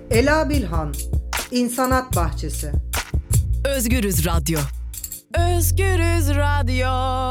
Ela Bilhan, İnsanat Bahçesi. Özgürüz Radyo. Özgürüz Radyo.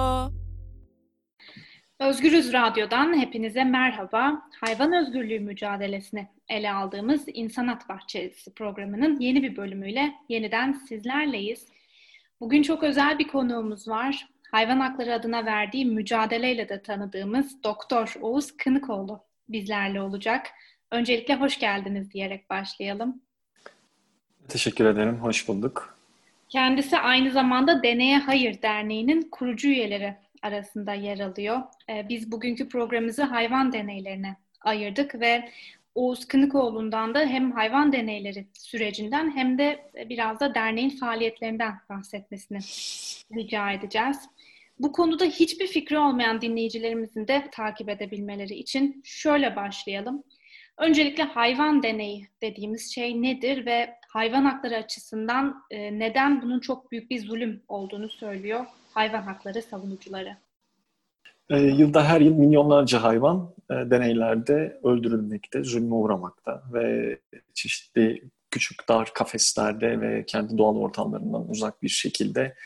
Özgürüz Radyo'dan hepinize merhaba. Hayvan özgürlüğü mücadelesini ele aldığımız İnsanat Bahçesi programının yeni bir bölümüyle yeniden sizlerleyiz. Bugün çok özel bir konuğumuz var. Hayvan hakları adına verdiği mücadeleyle de tanıdığımız Doktor Oğuz Kınıkoğlu bizlerle olacak. Öncelikle hoş geldiniz diyerek başlayalım. Teşekkür ederim, hoş bulduk. Kendisi aynı zamanda Deneye Hayır Derneği'nin kurucu üyeleri arasında yer alıyor. Biz bugünkü programımızı hayvan deneylerine ayırdık ve Oğuz Kınıkoğlu'ndan da hem hayvan deneyleri sürecinden hem de biraz da derneğin faaliyetlerinden bahsetmesini rica edeceğiz. Bu konuda hiçbir fikri olmayan dinleyicilerimizin de takip edebilmeleri için şöyle başlayalım. Öncelikle hayvan deneyi dediğimiz şey nedir ve hayvan hakları açısından neden bunun çok büyük bir zulüm olduğunu söylüyor hayvan hakları savunucuları? Yılda her yıl milyonlarca hayvan deneylerde öldürülmekte, zulme uğramakta ve çeşitli küçük dar kafeslerde ve kendi doğal ortamlarından uzak bir şekilde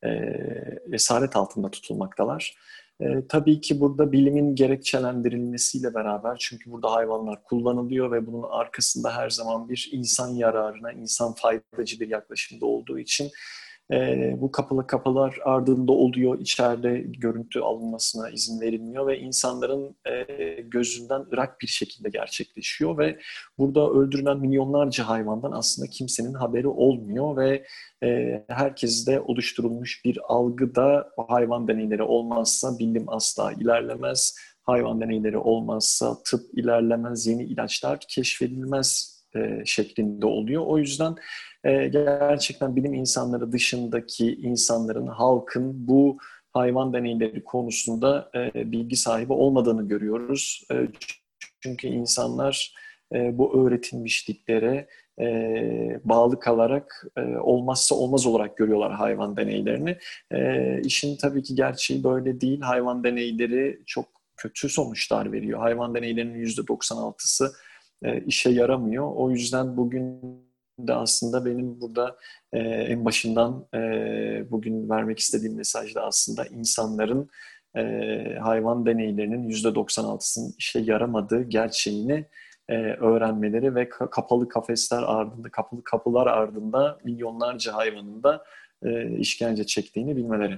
esaret altında tutulmaktalar. Tabii ki burada bilimin gerekçelendirilmesiyle beraber, çünkü burada hayvanlar kullanılıyor ve bunun arkasında her zaman bir insan yararına, insan faydacı bir yaklaşımda olduğu için bu kapalı kapılar ardında oluyor, içeride görüntü alınmasına izin verilmiyor ve insanların gözünden ırak bir şekilde gerçekleşiyor ve burada öldürülen milyonlarca hayvandan aslında kimsenin haberi olmuyor ve herkeste oluşturulmuş bir algıda hayvan deneyleri olmazsa bilim asla ilerlemez, hayvan deneyleri olmazsa tıp ilerlemez, yeni ilaçlar keşfedilmez şeklinde oluyor. O yüzden gerçekten bilim insanları dışındaki insanların, halkın bu hayvan deneyleri konusunda bilgi sahibi olmadığını görüyoruz. Çünkü insanlar bu öğretilmişliklere bağlı kalarak olmazsa olmaz olarak görüyorlar hayvan deneylerini. İşin tabii ki gerçeği böyle değil. Hayvan deneyleri çok kötü sonuçlar veriyor. Hayvan deneylerinin %96'sı işe yaramıyor. O yüzden bugün de aslında benim burada en başından bugün vermek istediğim mesaj da aslında insanların hayvan deneylerinin %96'sının işe yaramadığı gerçeğini öğrenmeleri ve kapalı kafesler ardında, kapalı kapılar ardında milyonlarca hayvanın da işkence çektiğini bilmeleri.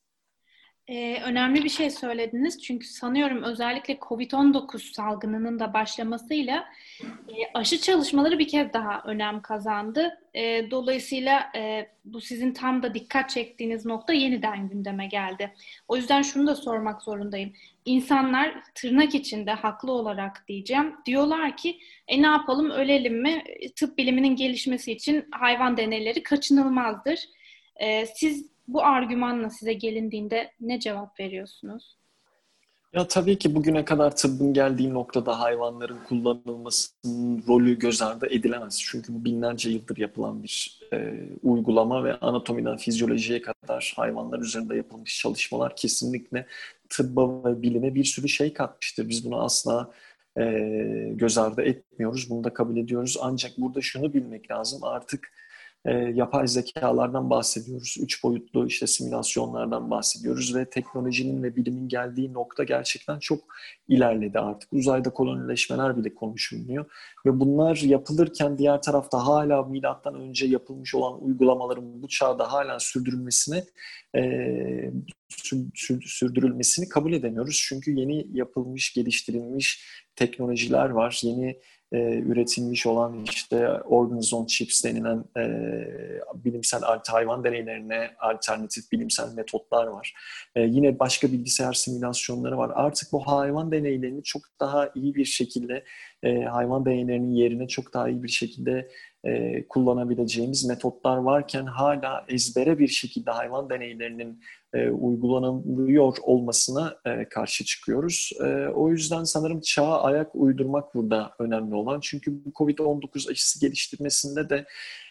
Önemli bir şey söylediniz çünkü sanıyorum özellikle COVID-19 salgınının da başlamasıyla aşı çalışmaları bir kez daha önem kazandı. Dolayısıyla bu sizin tam da dikkat çektiğiniz nokta yeniden gündeme geldi. O yüzden şunu da sormak zorundayım. İnsanlar tırnak içinde haklı olarak diyeceğim diyorlar ki ne yapalım ölelim mi? Tıp biliminin gelişmesi için hayvan deneyleri kaçınılmazdır. Siz bu argümanla size gelindiğinde ne cevap veriyorsunuz? Ya tabii ki bugüne kadar tıbbın geldiği noktada hayvanların kullanılmasının rolü göz ardı edilemez. Çünkü bu binlerce yıldır yapılan bir uygulama ve anatomiden fizyolojiye kadar hayvanlar üzerinde yapılmış çalışmalar kesinlikle tıbba ve bilime bir sürü şey katmıştır. Biz bunu asla göz ardı etmiyoruz, bunu da kabul ediyoruz. Ancak burada şunu bilmek lazım, artık yapay zekalardan bahsediyoruz. 3 boyutlu işte simülasyonlardan bahsediyoruz ve teknolojinin ve bilimin geldiği nokta gerçekten çok ilerledi artık. Uzayda kolonileşmeler bile konuşulmuyor. Ve bunlar yapılırken diğer tarafta hala milattan önce yapılmış olan uygulamaların bu çağda hala sürdürülmesini kabul edemiyoruz. Çünkü yeni yapılmış, geliştirilmiş teknolojiler var. Yeni üretilmiş olan işte organism on chips denilen bilimsel hayvan deneylerine alternatif bilimsel metotlar var. Yine başka bilgisayar simülasyonları var. Artık bu hayvan deneylerini çok daha iyi bir şekilde hayvan deneylerinin yerine çok daha iyi bir şekilde kullanabileceğimiz metotlar varken hala ezbere bir şekilde hayvan deneylerinin uygulanılıyor olmasına karşı çıkıyoruz. O yüzden sanırım çağa ayak uydurmak burada önemli olan. Çünkü bu COVID-19 aşısı geliştirmesinde de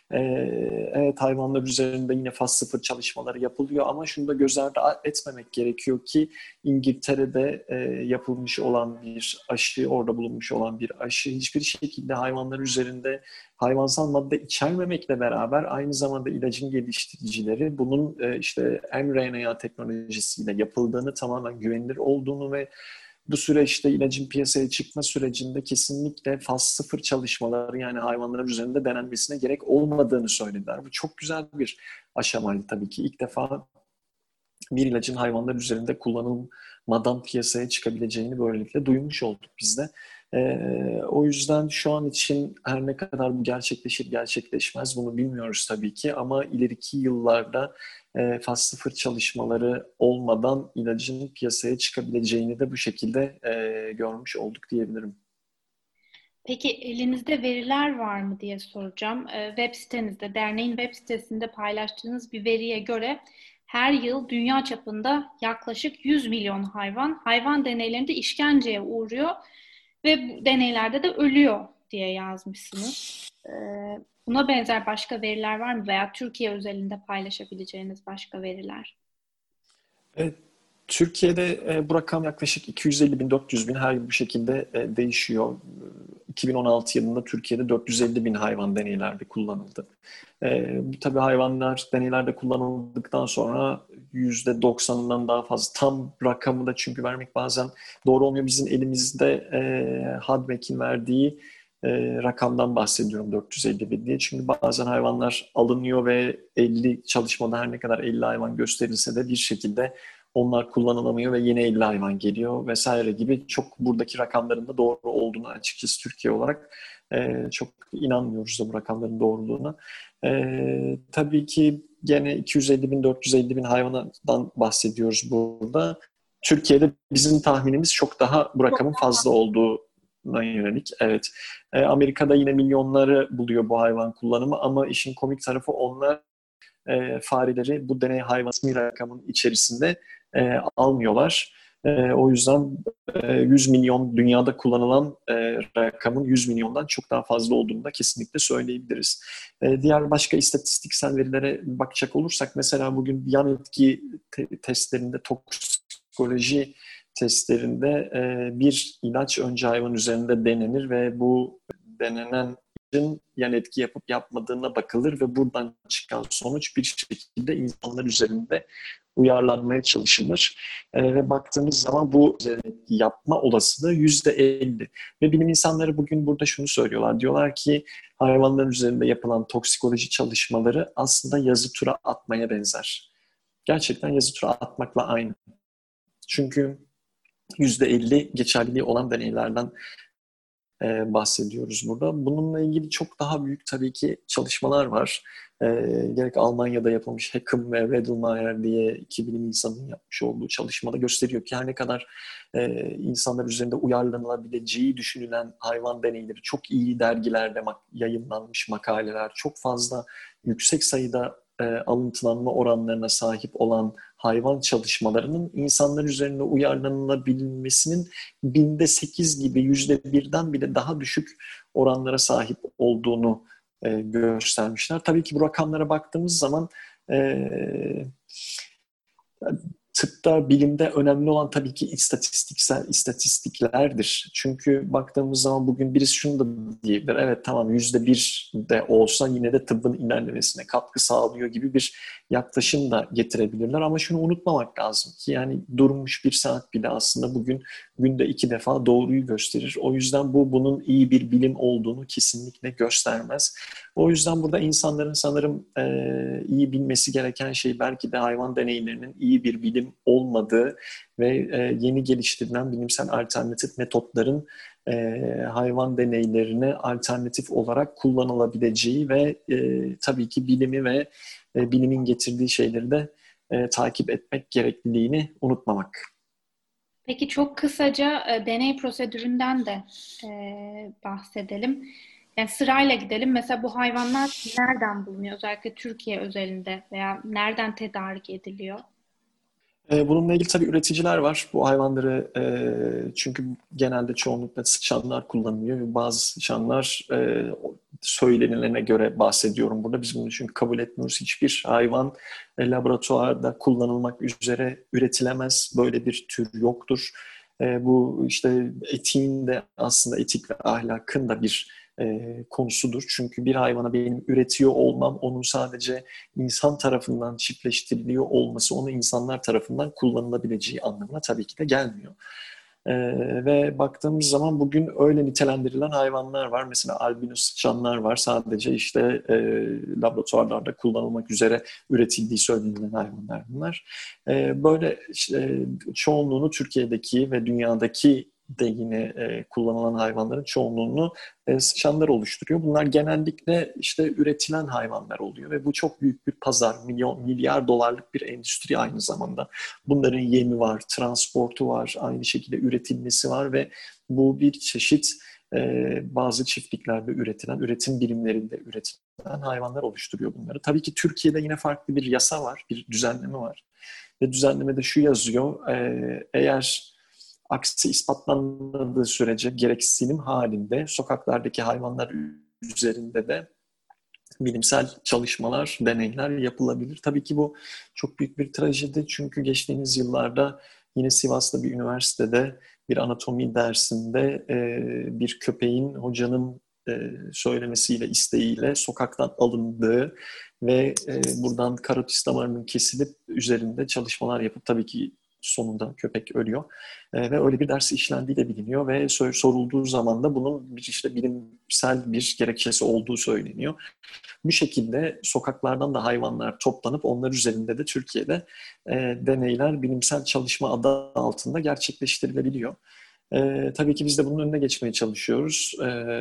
Evet, hayvanlar üzerinde yine faz 0 çalışmaları yapılıyor ama şunu da göz ardı etmemek gerekiyor ki İngiltere'de yapılmış olan bir aşı, orada bulunmuş olan bir aşı hiçbir şekilde hayvanlar üzerinde hayvansal madde içermemekle beraber aynı zamanda ilacın geliştiricileri bunun işte mRNA teknolojisiyle yapıldığını, tamamen güvenilir olduğunu ve bu süreçte ilacın piyasaya çıkma sürecinde kesinlikle faz 0 çalışmaları, yani hayvanlar üzerinde denenmesine gerek olmadığını söylediler. Bu çok güzel bir aşamaydı tabii ki. İlk defa bir ilacın hayvanlar üzerinde kullanılmadan piyasaya çıkabileceğini böylelikle duymuş olduk biz de. O yüzden şu an için her ne kadar bu gerçekleşir gerçekleşmez bunu bilmiyoruz tabii ki, ama ileriki yıllarda faz 0 çalışmaları olmadan ilacın piyasaya çıkabileceğini de bu şekilde görmüş olduk diyebilirim. Peki elinizde veriler var mı diye soracağım. Web sitenizde, derneğin web sitesinde paylaştığınız bir veriye göre her yıl dünya çapında yaklaşık 100 milyon hayvan deneylerinde işkenceye uğruyor ve bu deneylerde de ölüyor diye yazmışsınız. Buna benzer başka veriler var mı veya Türkiye özelinde paylaşabileceğiniz başka veriler? Evet, Türkiye'de bu rakam yaklaşık 250 bin, 400 bin her yıl bu şekilde değişiyor. 2016 yılında Türkiye'de 450 bin hayvan deneylerde kullanıldı. Bu tabii hayvanlar deneylerde kullanıldıktan sonra %90'ından daha fazla, tam rakamı da çünkü vermek bazen doğru olmuyor. Bizim elimizde HADMEC'in verdiği rakamdan bahsediyorum, 450 bin diye. Çünkü bazen hayvanlar alınıyor ve 50 çalışmada her ne kadar 50 hayvan gösterilse de bir şekilde onlar kullanılamıyor ve yeni 50 hayvan geliyor vesaire gibi, çok buradaki rakamların da doğru olduğunu açıkçası Türkiye olarak çok inanmıyoruz da bu rakamların doğruluğuna. Tabii ki gene 250 bin, 450 bin hayvandan bahsediyoruz burada. Türkiye'de bizim tahminimiz çok daha bu rakamın fazla olduğuna yönelik. Evet. Amerika'da yine milyonları buluyor bu hayvan kullanımı ama işin komik tarafı, onlar fareleri bu deney hayvanı rakamın içerisinde almıyorlar. O yüzden 100 milyon dünyada kullanılan rakamın 100 milyondan çok daha fazla olduğunu da kesinlikle söyleyebiliriz. Diğer başka istatistiksel verilere bakacak olursak, mesela bugün yan etki testlerinde, toksikoloji testlerinde bir ilaç önce hayvan üzerinde denenir ve bu denenen yan etki yapıp yapmadığına bakılır ve buradan çıkan sonuç bir şekilde insanlar üzerinde uyarlanmaya çalışılır. Ve baktığımız zaman bu yapma olasılığı %50. Ve bilim insanları bugün burada şunu söylüyorlar. Diyorlar ki hayvanların üzerinde yapılan toksikoloji çalışmaları aslında yazı tura atmaya benzer. Gerçekten yazı tura atmakla aynı. Çünkü %50 geçerliliği olan deneylerden bahsediyoruz burada. Bununla ilgili çok daha büyük tabii ki çalışmalar var. Gerek Almanya'da yapılmış Hackham ve Wedelmayer diye iki bilim insanının yapmış olduğu çalışmada gösteriyor ki her ne kadar insanlar üzerinde uyarlanılabileceği düşünülen hayvan deneyleri, çok iyi dergilerde yayınlanmış makaleler, çok fazla yüksek sayıda alıntılanma oranlarına sahip olan hayvan çalışmalarının insanlar üzerinde uyarlanılabilmesinin %8 gibi, %1'den bile daha düşük oranlara sahip olduğunu göstermişler. Tabii ki bu rakamlara baktığımız zaman tıpta, bilimde önemli olan tabii ki istatistiklerdir. Çünkü baktığımız zaman bugün birisi şunu da diyebilir. Evet, tamam, %1 de olsa yine de tıbbın ilerlemesine katkı sağlıyor gibi bir yaklaşım da getirebilirler. Ama şunu unutmamak lazım ki yani durmuş bir saat bile aslında bugün günde 2 defa doğruyu gösterir. O yüzden bunun iyi bir bilim olduğunu kesinlikle göstermez. O yüzden burada insanların sanırım iyi bilmesi gereken şey belki de hayvan deneylerinin iyi bir bilim olmadığı ve yeni geliştirilen bilimsel alternatif metotların hayvan deneylerine alternatif olarak kullanılabileceği ve tabii ki bilimi ve bilimin getirdiği şeyleri de takip etmek gerekliliğini unutmamak. Peki çok kısaca deney prosedüründen de bahsedelim. Yani sırayla gidelim. Mesela bu hayvanlar nereden bulunuyor? Özellikle Türkiye özelinde veya nereden tedarik ediliyor? Bununla ilgili tabii üreticiler var. Bu hayvanları çünkü genelde çoğunlukla sıçanlar kullanılıyor ve bazı sıçanlar söylenilene göre bahsediyorum burada. Biz bunu çünkü kabul etmiyoruz. Hiçbir hayvan laboratuvarda kullanılmak üzere üretilemez. Böyle bir tür yoktur. Bu işte etiğin de aslında etik ve ahlakın da bir konusudur. Çünkü bir hayvana benim üretiyor olmam, onun sadece insan tarafından çiftleştiriliyor olması, onu insanlar tarafından kullanılabileceği anlamına tabii ki de gelmiyor. Ve baktığımız zaman bugün öyle nitelendirilen hayvanlar var. Mesela albino sıçanlar var. Sadece işte laboratuvarlarda kullanılmak üzere üretildiği söylenilen hayvanlar bunlar. Böyle işte, çoğunluğunu Türkiye'deki ve dünyadaki de yine kullanılan hayvanların çoğunluğunu sıçanlar oluşturuyor. Bunlar genellikle işte üretilen hayvanlar oluyor ve bu çok büyük bir pazar, milyar dolarlık bir endüstri aynı zamanda. Bunların yemi var, transportu var, aynı şekilde üretilmesi var ve bu bir çeşit bazı çiftliklerde üretilen, üretim birimlerinde üretilen hayvanlar oluşturuyor bunları. Tabii ki Türkiye'de yine farklı bir yasa var, bir düzenleme var. Ve düzenlemede şu yazıyor, eğer aksi ispatlanmadığı sürece gereksinim halinde sokaklardaki hayvanlar üzerinde de bilimsel çalışmalar, deneyler yapılabilir. Tabii ki bu çok büyük bir trajedi çünkü geçtiğimiz yıllarda yine Sivas'ta bir üniversitede bir anatomi dersinde bir köpeğin hocanın söylemesiyle, isteğiyle sokaktan alındığı ve buradan karotis damarının kesilip üzerinde çalışmalar yapıp tabii ki sonunda köpek ölüyor. Ve öyle bir ders işlendiği de biliniyor ve sorulduğu zaman da bunun bir işte bilimsel bir gerekçesi olduğu söyleniyor. Bu şekilde sokaklardan da hayvanlar toplanıp onlar üzerinde de Türkiye'de deneyler bilimsel çalışma adı altında gerçekleştirilebiliyor. Tabii ki biz de bunun önüne geçmeye çalışıyoruz.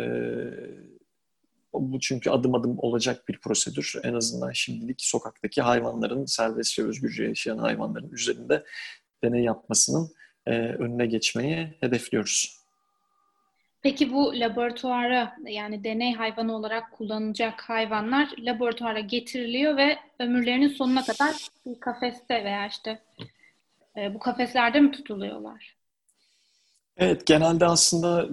Bu çünkü adım adım olacak bir prosedür. En azından şimdilik sokaktaki hayvanların, serbestçe özgürce yaşayan hayvanların üzerinde deney yapmasının önüne geçmeyi hedefliyoruz. Peki bu laboratuvara yani deney hayvanı olarak kullanılacak hayvanlar laboratuvara getiriliyor ve ömürlerinin sonuna kadar bir kafeste veya işte bu kafeslerde mi tutuluyorlar? Evet, genelde aslında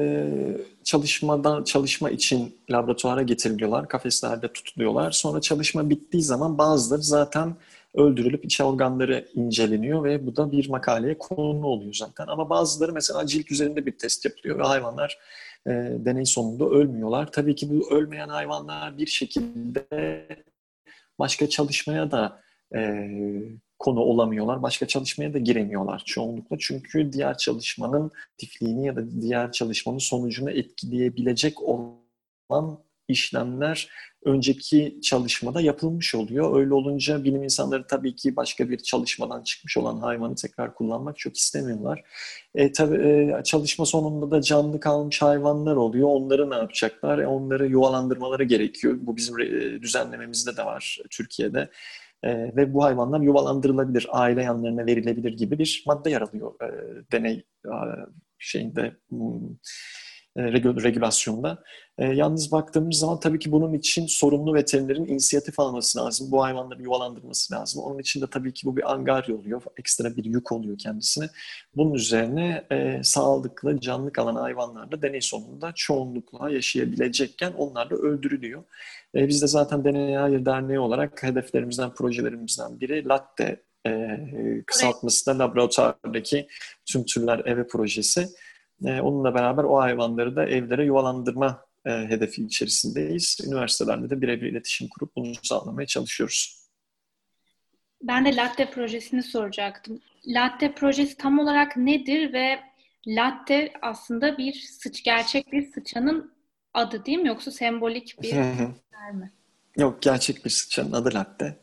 çalışma için laboratuvara getiriliyorlar, kafeslerde tutuluyorlar. Sonra çalışma bittiği zaman bazıları zaten öldürülüp iç organları inceleniyor ve bu da bir makaleye konu oluyor zaten. Ama bazıları mesela cilt üzerinde bir test yapılıyor ve hayvanlar deney sonunda ölmüyorlar. Tabii ki bu ölmeyen hayvanlar bir şekilde başka çalışmaya da konu olamıyorlar. Başka çalışmaya da giremiyorlar çoğunlukla. Çünkü diğer çalışmanın aktifliğini ya da diğer çalışmanın sonucunu etkileyebilecek olan işlemler önceki çalışmada yapılmış oluyor. Öyle olunca bilim insanları tabii ki başka bir çalışmadan çıkmış olan hayvanı tekrar kullanmak çok istemiyorlar. Tabii çalışma sonunda da canlı kalmış hayvanlar oluyor. Onları ne yapacaklar? Onları yuvalandırmaları gerekiyor. Bu bizim düzenlememizde de var Türkiye'de. Ve bu hayvanlar yuvalandırılabilir, aile yanlarına verilebilir gibi bir madde yer alıyor deney şeyinde regülasyonda. Yalnız baktığımız zaman tabii ki bunun için sorumlu veterinerin inisiyatif alması lazım. Bu hayvanları yuvalandırması lazım. Onun için de tabii ki bu bir angarya oluyor. Ekstra bir yük oluyor kendisine. Bunun üzerine sağlıklı, canlı kalan hayvanlar da deney sonunda çoğunlukla yaşayabilecekken onlar da öldürülüyor. Biz de zaten Deneye Hayır Derneği olarak hedeflerimizden, projelerimizden biri Latte kısaltması da laboratuvardaki tüm türler eve projesi. Onunla beraber o hayvanları da evlere yuvalandırma hedefi içerisindeyiz. Üniversitelerle de birebir iletişim kurup bunu sağlamaya çalışıyoruz. Ben de Latte projesini soracaktım. Latte projesi tam olarak nedir ve Latte aslında gerçek bir sıçanın adı değil mi? Yoksa sembolik bir yer mi? Yok, gerçek bir sıçanın adı Latte.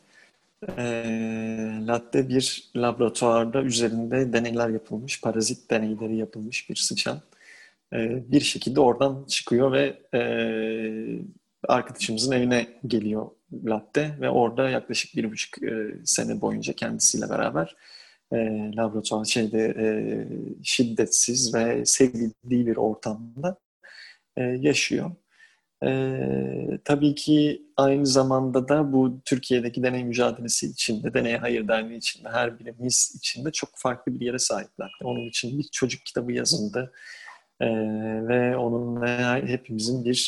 Latte bir laboratuvarda üzerinde deneyler yapılmış, parazit deneyleri yapılmış bir sıçan. Bir şekilde oradan çıkıyor ve arkadaşımızın evine geliyor Latte ve orada yaklaşık 1,5 sene boyunca kendisiyle beraber laboratuvar şiddetsiz ve sevildiği bir ortamda yaşıyor. Tabii ki aynı zamanda da bu Türkiye'deki deney mücadelesi içinde, Deneye Hayır Derneği içinde, her birimiz içinde çok farklı bir yere sahipler. Onun için bir çocuk kitabı yazıldı ve onunla hepimizin bir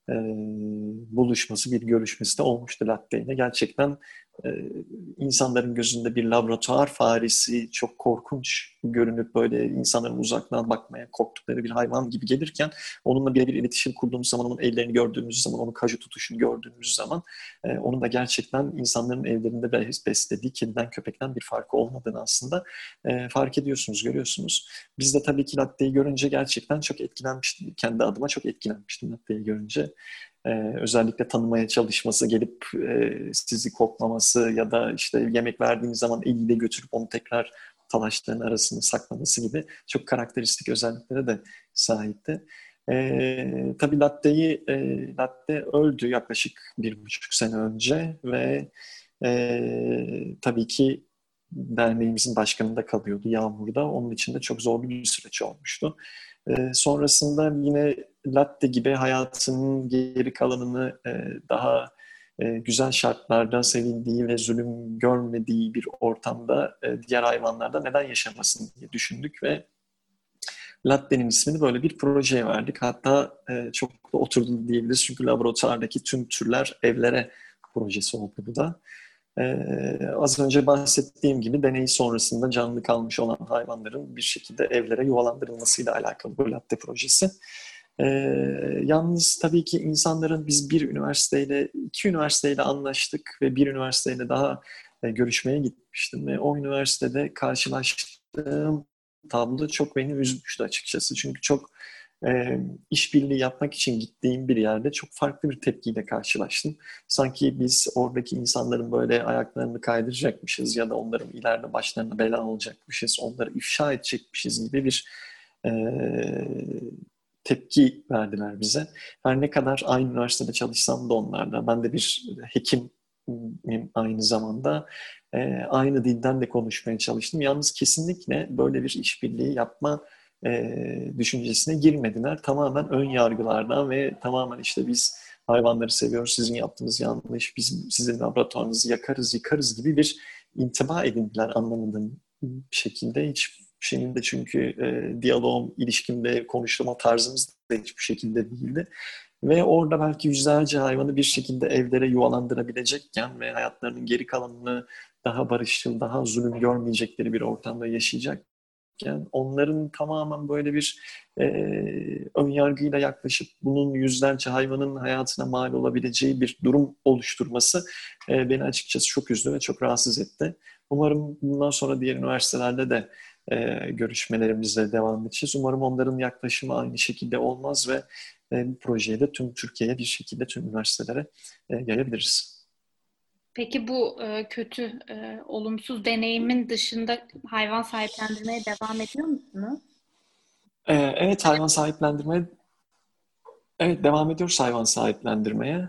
buluşması, bir görüşmesi de olmuştu latte ile. Gerçekten insanların gözünde bir laboratuvar faresi, çok korkunç görünüp böyle insanların uzaktan bakmaya korktukları bir hayvan gibi gelirken onunla birebir iletişim kurduğumuz zaman, onun ellerini gördüğümüz zaman, onun kaju tutuşunu gördüğümüz zaman onun da gerçekten insanların evlerinde beslediği kediden, köpekten bir farkı olmadığını aslında fark ediyorsunuz, görüyorsunuz. Biz de tabii ki latteyi görünce gerçekten çok etkilenmiştim. Kendi adıma çok etkilenmiştim latteyi görünce. Özellikle tanımaya çalışması, gelip sizi koklaması ya da işte yemek verdiğiniz zaman eliyle götürüp onu tekrar talaşların arasında saklaması gibi çok karakteristik özelliklere de sahipti. Tabii Latte öldü yaklaşık 1,5 sene önce ve tabii ki derneğimizin başkanında kalıyordu Yağmur'da. Onun için de çok zorlu bir süreç olmuştu. Sonrasında yine Latte gibi hayatının geri kalanını daha güzel şartlarda sevildiği ve zulüm görmediği bir ortamda diğer hayvanlarda neden yaşamasın diye düşündük ve Latte'nin ismini böyle bir projeye verdik. Hatta çok da oturdu diyebiliriz çünkü laboratuvardaki tüm türler evlere projesi oldu bu da. Az önce bahsettiğim gibi deney sonrasında canlı kalmış olan hayvanların bir şekilde evlere yuvalandırılmasıyla alakalı bu Latte projesi. Yalnız tabii ki insanların biz iki üniversiteyle anlaştık ve bir üniversiteyle daha görüşmeye gitmiştim ve o üniversitede karşılaştığım tablo çok beni üzmüştü açıkçası. Çünkü çok işbirliği yapmak için gittiğim bir yerde çok farklı bir tepkiyle karşılaştım. Sanki biz oradaki insanların böyle ayaklarını kaydıracakmışız ya da onların ileride başlarına bela olacakmışız, onları ifşa edecekmişiz gibi bir tepki verdiler bize. Her ne kadar aynı üniversitede çalışsam da onlarla, ben de bir hekimim aynı zamanda, aynı dilden de konuşmaya çalıştım. Yalnız kesinlikle böyle bir işbirliği yapma düşüncesine girmediler. Tamamen ön yargılardan ve tamamen işte biz hayvanları seviyoruz, sizin yaptığınız yanlış, biz sizin laboratuvarınızı yakarız, yıkarız gibi bir intiba edindiler anlamadığım şekilde. Hiç şeyin de çünkü diyaloğum, ilişkimde konuştuğum tarzımız da hiçbir şekilde değildi. Ve orada belki yüzlerce hayvanı bir şekilde evlere yuvalandırabilecekken ve hayatlarının geri kalanını daha barışçıl, daha zulüm görmeyecekleri bir ortamda yaşayacakken onların tamamen böyle bir ön yargıyla yaklaşıp bunun yüzlerce hayvanın hayatına mal olabileceği bir durum oluşturması beni açıkçası çok üzdü ve çok rahatsız etti. Umarım bundan sonra diğer üniversitelerde de görüşmelerimize devam edeceğiz. Umarım onların yaklaşımı aynı şekilde olmaz ve bu projeyi de tüm Türkiye'ye bir şekilde tüm üniversitelere yayabiliriz. Peki bu kötü, olumsuz deneyimin dışında hayvan sahiplendirmeye devam ediyor musunuz? Evet, devam ediyoruz hayvan sahiplendirmeye.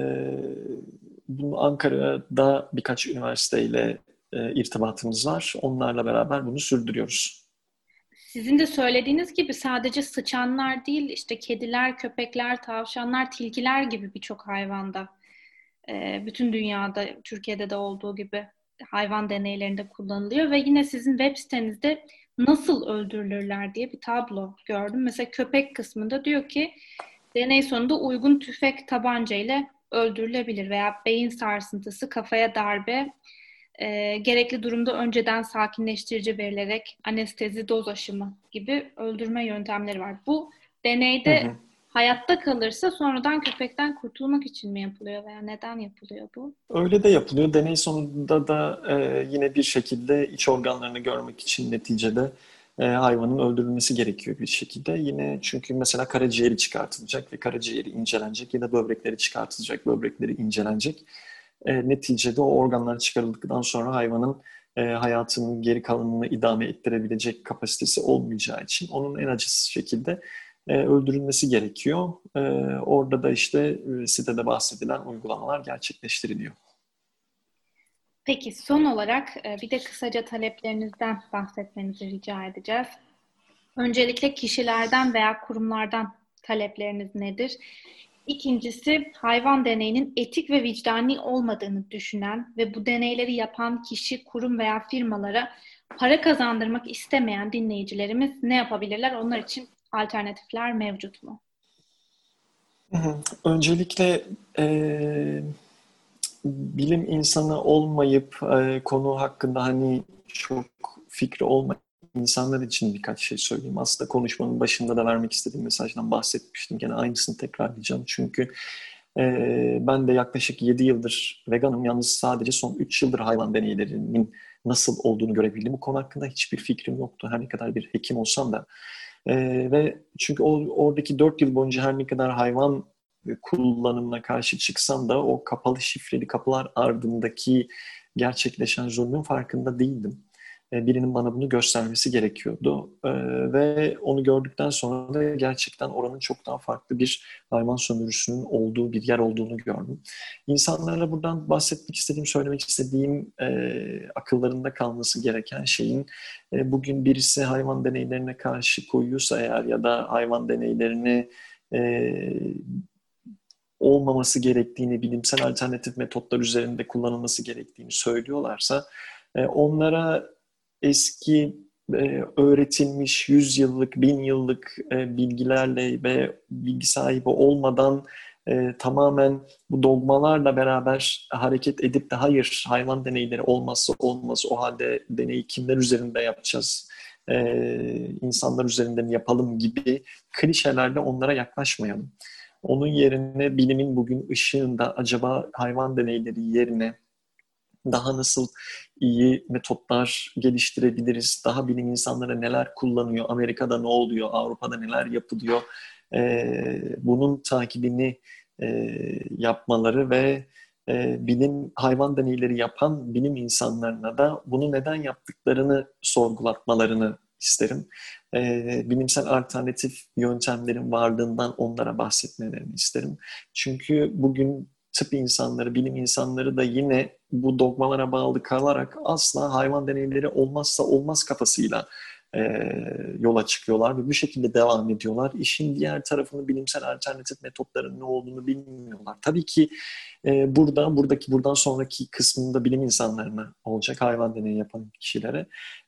Bunu Ankara'da birkaç üniversiteyle irtibatımız var. Onlarla beraber bunu sürdürüyoruz. Sizin de söylediğiniz gibi sadece sıçanlar değil, işte kediler, köpekler, tavşanlar, tilkiler gibi birçok hayvanda, bütün dünyada, Türkiye'de de olduğu gibi hayvan deneylerinde kullanılıyor ve yine sizin web sitenizde nasıl öldürülürler diye bir tablo gördüm. Mesela köpek kısmında diyor ki deney sonunda uygun tüfek tabanca ile öldürülebilir veya beyin sarsıntısı, kafaya darbe, gerekli durumda önceden sakinleştirici verilerek anestezi, doz aşımı gibi öldürme yöntemleri var. Bu deneyde hayatta kalırsa sonradan köpekten kurtulmak için mi yapılıyor veya neden yapılıyor bu? Öyle de yapılıyor. Deney sonunda da yine bir şekilde iç organlarını görmek için neticede hayvanın öldürülmesi gerekiyor bir şekilde. Yine çünkü mesela karaciğeri çıkartılacak ve karaciğeri incelenecek ya da böbrekleri çıkartılacak, böbrekleri incelenecek. Neticede o organlar çıkarıldıktan sonra hayvanın hayatının geri kalanını idame ettirebilecek kapasitesi olmayacağı için onun en acısız şekilde öldürülmesi gerekiyor. Orada da işte sitede bahsedilen uygulamalar gerçekleştiriliyor. Peki son olarak bir de kısaca taleplerinizden bahsetmenizi rica edeceğiz. Öncelikle kişilerden veya kurumlardan talepleriniz nedir? İkincisi, hayvan deneyinin etik ve vicdani olmadığını düşünen ve bu deneyleri yapan kişi, kurum veya firmalara para kazandırmak istemeyen dinleyicilerimiz ne yapabilirler? Onlar için alternatifler mevcut mu? Hı hı. Öncelikle bilim insanı olmayıp konu hakkında hani çok fikri olmayan insanlar için birkaç şey söyleyeyim. Aslında konuşmanın başında da vermek istediğim mesajdan bahsetmiştim. Gene aynısını tekrarlayacağım. Çünkü ben de yaklaşık 7 yıldır veganım. Yalnız sadece son 3 yıldır hayvan deneylerinin nasıl olduğunu görebildim. Bu konu hakkında hiçbir fikrim yoktu. Her ne kadar bir hekim olsam da. Ve çünkü oradaki 4 yıl boyunca her ne kadar hayvan kullanımına karşı çıksam da o kapalı şifreli kapılar ardındaki gerçekleşen zulmün farkında değildim. Birinin bana bunu göstermesi gerekiyordu. Ve onu gördükten sonra da gerçekten oranın çok daha farklı bir hayvan sömürüsünün olduğu bir yer olduğunu gördüm. İnsanlara buradan bahsetmek istediğim, söylemek istediğim akıllarında kalması gereken şeyin bugün birisi hayvan deneylerine karşı koyuyorsa eğer ya da hayvan deneylerini olmaması gerektiğini, bilimsel alternatif metotlar üzerinde kullanılması gerektiğini söylüyorlarsa onlara eski öğretilmiş 100 yıllık, 1000 yıllık bilgilerle ve bilgi sahibi olmadan tamamen bu dogmalarla beraber hareket edip de hayır hayvan deneyleri olmazsa olmaz, o halde deneyi kimler üzerinde yapacağız, insanlar üzerinden yapalım gibi klişelerle onlara yaklaşmayalım. Onun yerine bilimin bugün ışığında acaba hayvan deneyleri yerine daha nasıl iyi metotlar geliştirebiliriz? Daha bilim insanları neler kullanıyor? Amerika'da ne oluyor? Avrupa'da neler yapılıyor? Bunun takibini yapmaları ve bilim hayvan deneyleri yapan bilim insanlarına da bunu neden yaptıklarını sorgulatmalarını isterim. Bilimsel alternatif yöntemlerin varlığından onlara bahsetmelerini isterim. Çünkü bugün tıp insanları, bilim insanları da yine bu dogmalara bağlı kalarak asla hayvan deneyleri olmazsa olmaz kafasıyla yola çıkıyorlar ve bu şekilde devam ediyorlar. İşin diğer tarafını bilimsel alternatif metotların ne olduğunu bilmiyorlar. Tabii ki buradan sonraki kısmında bilim insanlarına olacak, hayvan deneyi yapan kişilere.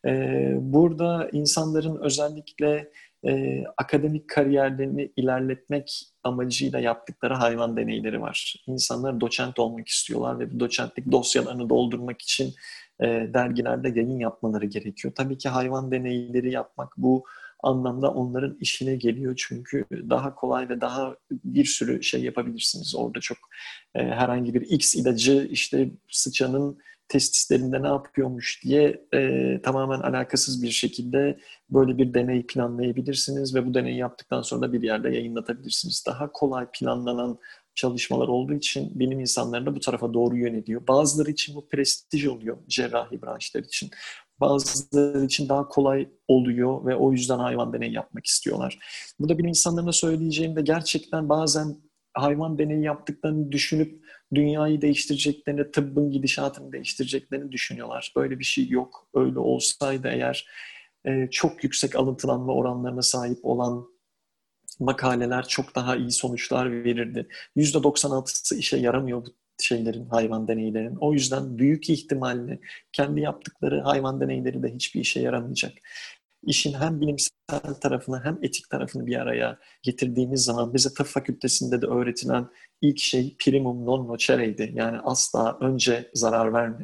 Burada insanların özellikle akademik kariyerlerini ilerletmek amacıyla yaptıkları hayvan deneyleri var. İnsanlar doçent olmak istiyorlar ve bu doçentlik dosyalarını doldurmak için dergilerde yayın yapmaları gerekiyor. Tabii ki hayvan deneyleri yapmak bu anlamda onların işine geliyor. Çünkü daha kolay ve daha bir sürü şey yapabilirsiniz. Orada çok herhangi bir X ilacı işte sıçanın testislerinde ne yapıyormuş diye tamamen alakasız bir şekilde böyle bir deney planlayabilirsiniz ve bu deneyi yaptıktan sonra da bir yerde yayınlatabilirsiniz. Daha kolay planlanan çalışmalar olduğu için bilim insanları da bu tarafa doğru yöneliyor. Bazıları için bu prestij oluyor, cerrahi branşlar için. Bazıları için daha kolay oluyor ve o yüzden hayvan deneyi yapmak istiyorlar. Burada bilim insanlarına söyleyeceğim de gerçekten bazen hayvan deneyi yaptıklarını düşünüp dünyayı değiştireceklerini, tıbbın gidişatını değiştireceklerini düşünüyorlar. Böyle bir şey yok. Öyle olsaydı eğer çok yüksek alıntılanma oranlarına sahip olan makaleler çok daha iyi sonuçlar verirdi. %96'sı işe yaramıyor bu şeylerin, hayvan deneylerinin. O yüzden büyük ihtimalle kendi yaptıkları hayvan deneyleri de hiçbir işe yaramayacak. İşin hem bilimsel tarafını hem etik tarafını bir araya getirdiğimiz zaman bize tıp fakültesinde de öğretilen ilk şey primum non nocere'ydi. Yani asla önce zarar verme.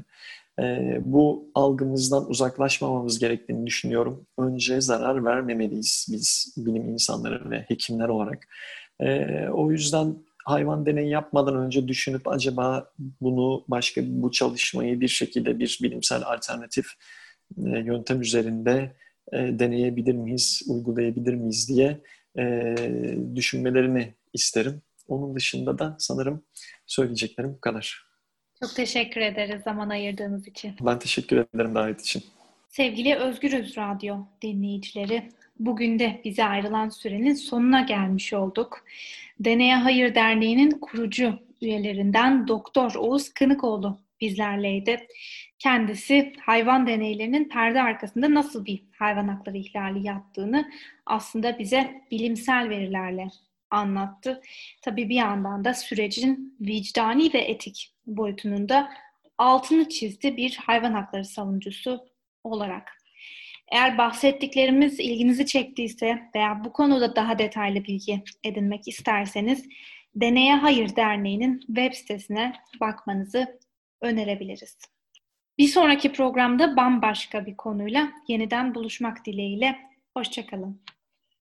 Bu algımızdan uzaklaşmamamız gerektiğini düşünüyorum. Önce zarar vermemeliyiz biz bilim insanları ve hekimler olarak. O yüzden hayvan deneyi yapmadan önce düşünüp acaba bu çalışmayı bir şekilde bir bilimsel alternatif yöntem üzerinde deneyebilir miyiz, uygulayabilir miyiz diye düşünmelerini isterim. Onun dışında da sanırım söyleyeceklerim bu kadar. Çok teşekkür ederiz zaman ayırdığınız için. Ben teşekkür ederim davet için. Sevgili Özgürüz Radyo dinleyicileri, bugün de bize ayrılan sürenin sonuna gelmiş olduk. Deneye Hayır Derneği'nin kurucu üyelerinden Doktor Oğuz Kınıkoğlu bizlerleydi. Kendisi hayvan deneylerinin perde arkasında nasıl bir hayvan hakları ihlali yaptığını aslında bize bilimsel verilerle anlattı. Tabii bir yandan da sürecin vicdani ve etik boyutunun da altını çizdi bir hayvan hakları savunucusu olarak. Eğer bahsettiklerimiz ilginizi çektiyse veya bu konuda daha detaylı bilgi edinmek isterseniz Deneye Hayır Derneği'nin web sitesine bakmanızı önerebiliriz. Bir sonraki programda bambaşka bir konuyla yeniden buluşmak dileğiyle. Hoşça kalın.